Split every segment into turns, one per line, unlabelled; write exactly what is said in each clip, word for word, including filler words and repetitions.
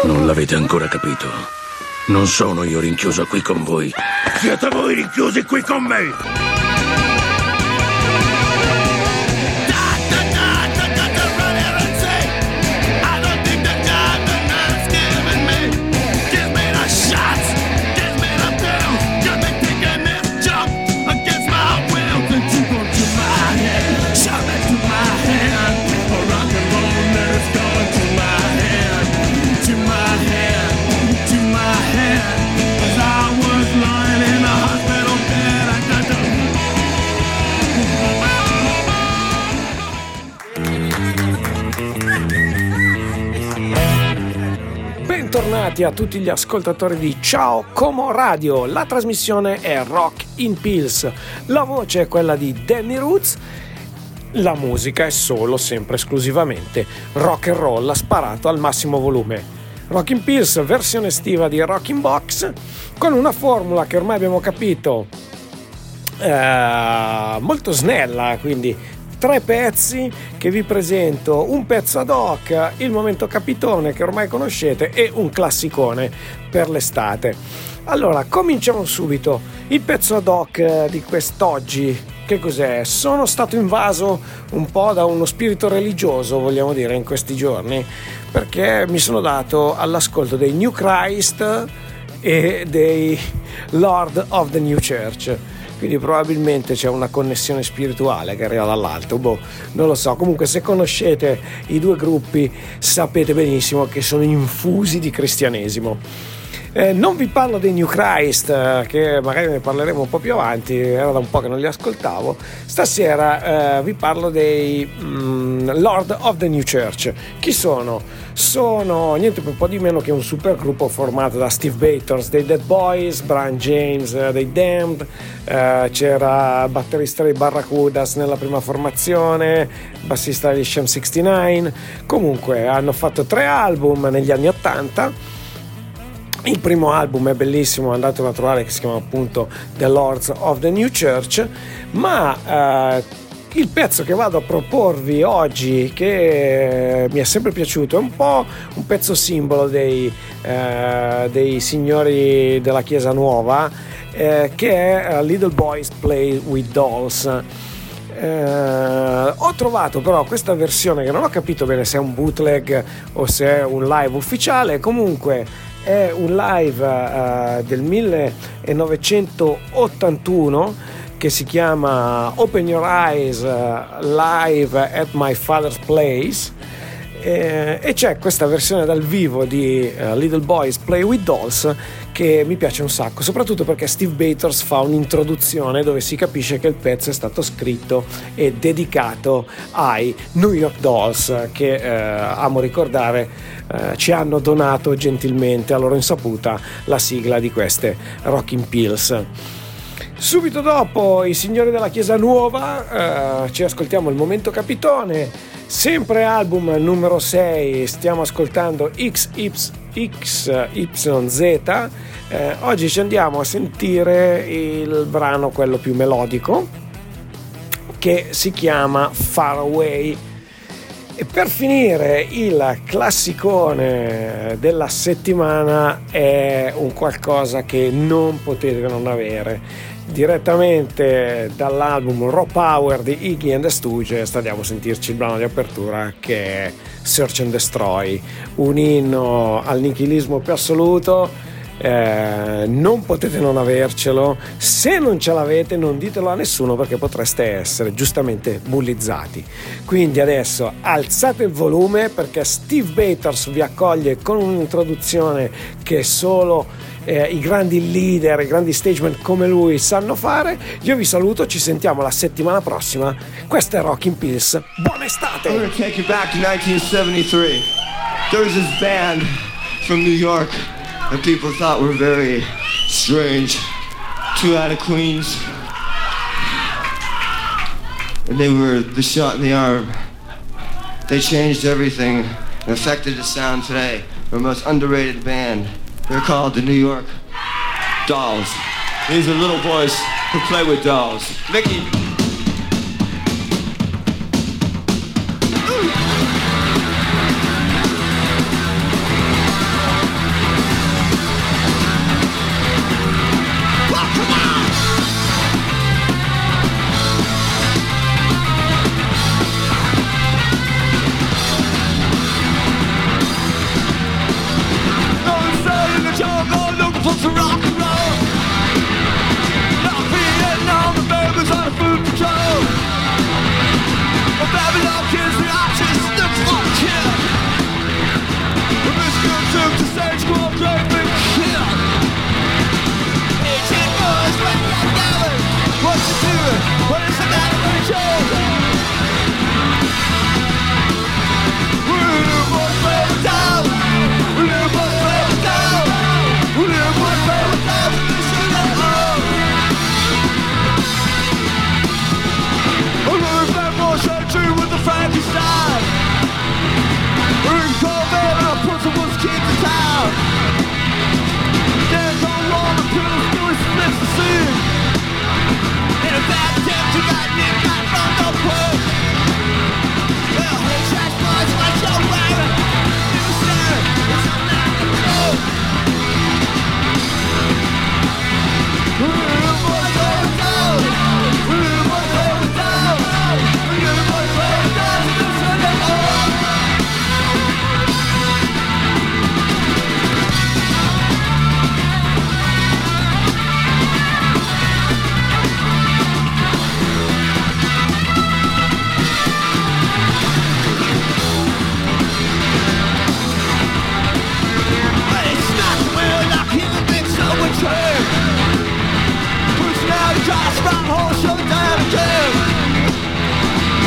Non l'avete ancora capito. Non sono io rinchiuso qui con voi. Siete voi rinchiusi qui con me!
Bentornati a tutti gli ascoltatori di Ciao Como Radio. La trasmissione è Rock in Pills. La voce è quella di Danny Roots. La musica è solo, sempre esclusivamente rock and roll sparato al massimo volume. Rock in Pills, versione estiva di Rockin' Box, con una formula che ormai abbiamo capito eh, molto snella, quindi tre pezzi che vi presento, un pezzo ad hoc, il momento capitone che ormai conoscete e un classicone per l'estate. Allora, cominciamo subito. Il pezzo ad hoc di quest'oggi, che cos'è? Sono stato invaso un po' da uno spirito religioso, vogliamo dire, in questi giorni, perché mi sono dato all'ascolto dei New Christ e dei Lord of the New Church. Quindi probabilmente c'è una connessione spirituale che arriva dall'alto, boh, non lo so. Comunque, se conoscete i due gruppi sapete benissimo che sono infusi di cristianesimo. Eh, non vi parlo dei New Christ, eh, che magari ne parleremo un po' più avanti, era da un po' che non li ascoltavo. Stasera eh, vi parlo dei mm, Lord of the New Church. Chi sono? Sono niente un po' di meno che un supergruppo formato da Steve Bators dei Dead Boys, Brian James eh, dei Damned, eh, c'era batterista dei Barracudas nella prima formazione, bassista degli Sham sessantanove. Comunque hanno fatto tre album negli anni ottanta. Il primo album è bellissimo, andatelo a trovare, che si chiama appunto The Lords of the New Church, ma eh, il pezzo che vado a proporvi oggi, che mi è sempre piaciuto, è un po' un pezzo simbolo dei, eh, dei signori della Chiesa Nuova, eh, che è Little Boys Play with Dolls. Eh, ho trovato però questa versione che non ho capito bene se è un bootleg o se è un live ufficiale. Comunque è un live uh, del millenovecentottantuno che si chiama Open Your Eyes uh, Live at My Father's Place, eh, e c'è questa versione dal vivo di uh, Little Boys Play with Dolls che mi piace un sacco, soprattutto perché Steve Bators fa un'introduzione dove si capisce che il pezzo è stato scritto e dedicato ai New York Dolls, che eh, amo ricordare eh, ci hanno donato gentilmente a loro insaputa la sigla di queste Rockin' Pills. Subito dopo i signori della Chiesa Nuova eh, ci ascoltiamo il momento capitone, sempre album numero sei, stiamo ascoltando X Y Z. Eh, oggi ci andiamo a sentire il brano, quello più melodico, che si chiama Far Away. E per finire, il classicone della settimana è un qualcosa che non potete non avere. Direttamente dall'album Raw Power di Iggy and the Stooges andiamo a sentirci il brano di apertura, che è Search and Destroy, un inno al nichilismo più assoluto. Eh, non potete non avercelo. Se non ce l'avete, non ditelo a nessuno, perché potreste essere giustamente bullizzati. Quindi adesso alzate il volume, perché Steve Bators vi accoglie con un'introduzione che solo Eh, i grandi leader, i grandi stageman come lui sanno fare. Io vi saluto, ci sentiamo la settimana prossima. Questa è Rockin' Pills, buona estate.
I'm gonna take you back to nineteen seventy-three. There was this band from New York that people thought were very strange. Two out of Queens, and they were the shot in the arm. They changed everything and affected the sound today. They're the most underrated band. They're called the New York Dolls. These are little boys who play with dolls. Mickey.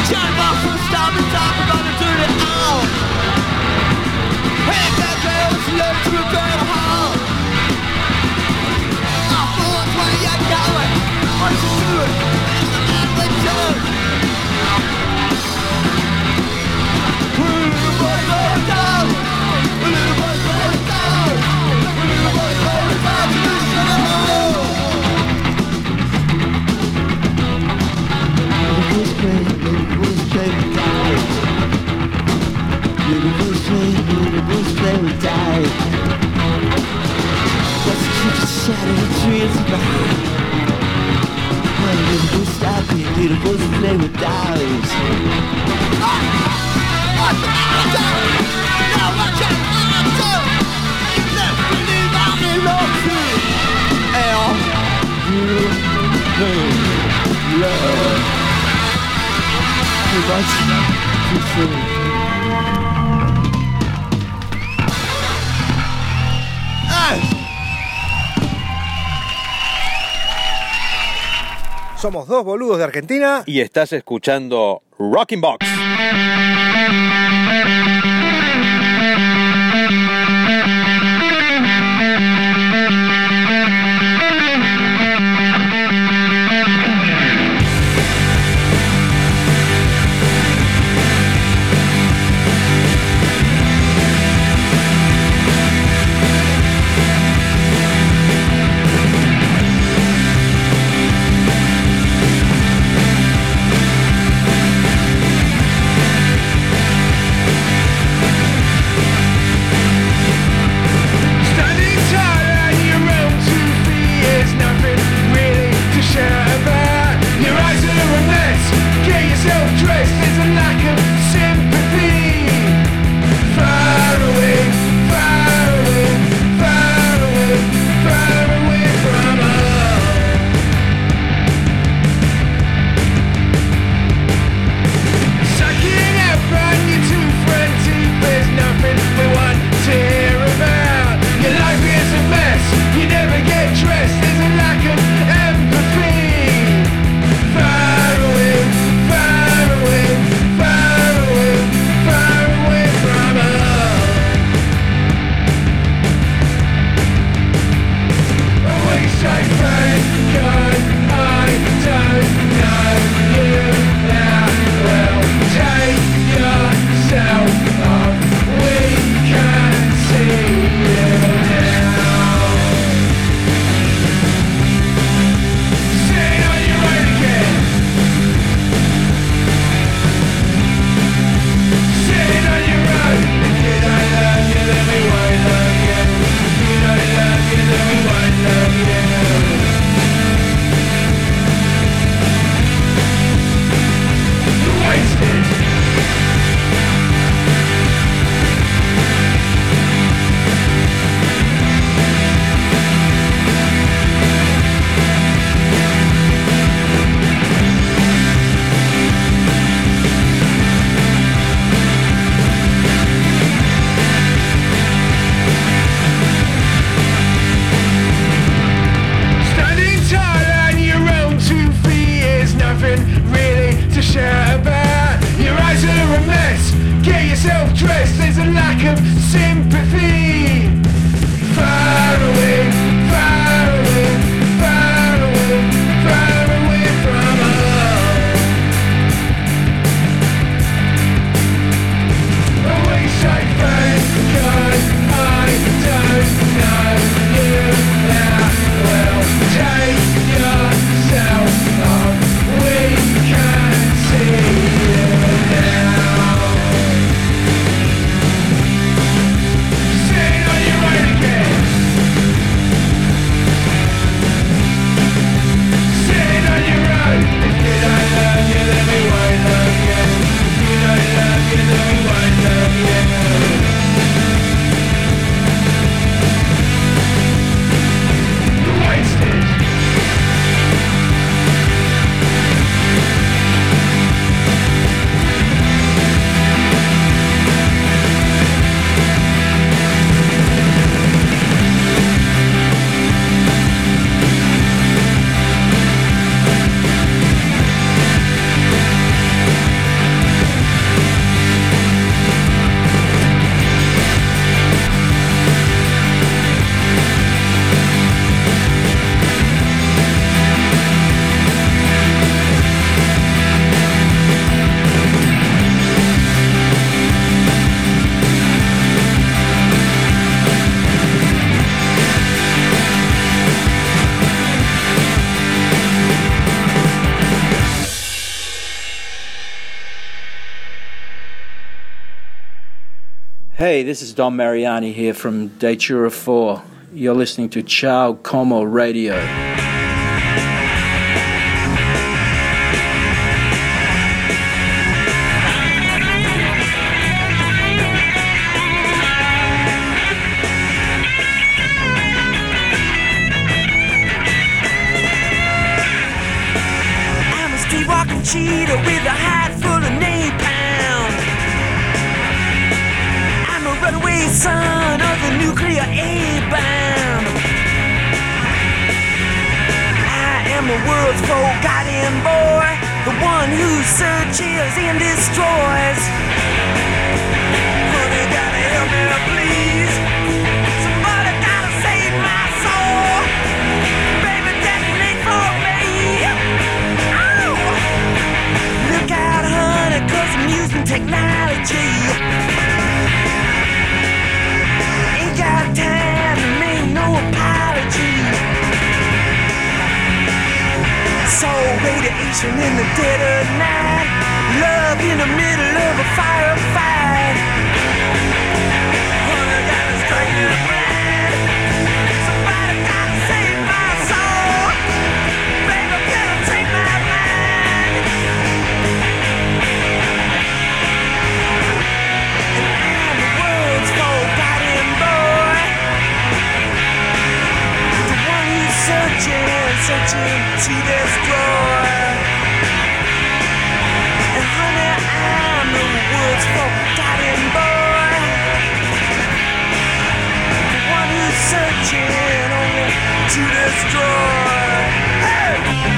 Somos dos boludos de Argentina
y estás escuchando Rocking Box.
Say Hey, this is Don Mariani here from Datura four. You're listening to Ciao Como Radio.
I'm a street-walking cheetah with a hide full of napalm. I'm a runaway son of the nuclear A-bomb. I am the world's forgotten boy, the one who searches and destroys. Honey, gotta help me, please. Somebody gotta save my soul. Baby, detonate for me. Oh! Look out, honey, 'cause I'm using technology. Ain't got time to make no apology. So radiation in the dead of night, love in the middle of a firefight. Honey, gotta strike me blind. Somebody gotta save my soul. Baby, penetrate my mind. And I'm the world's forgotten boy, the one who's searching, searching to destroy. And honey, I'm the world's forgotten boy, the one who's searching only to destroy. Hey!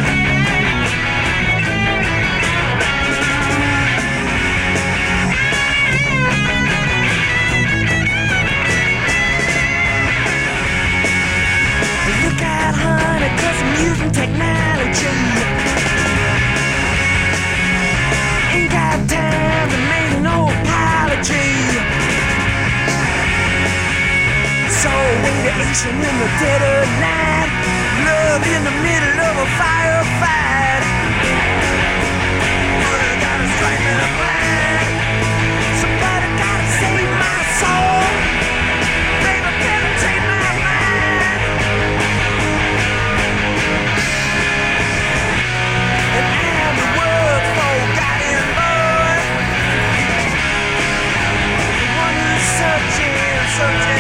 Look out, honey, 'cause I'm using technology. Ain't got time to make no apology. So radiation in the dead of night, love in the middle of a firefight. Honey, gotta strike me blind. Somebody gotta save my soul. Baby, penetrate my mind. And I'm the world's forgotten boy, the one who's searching, searching.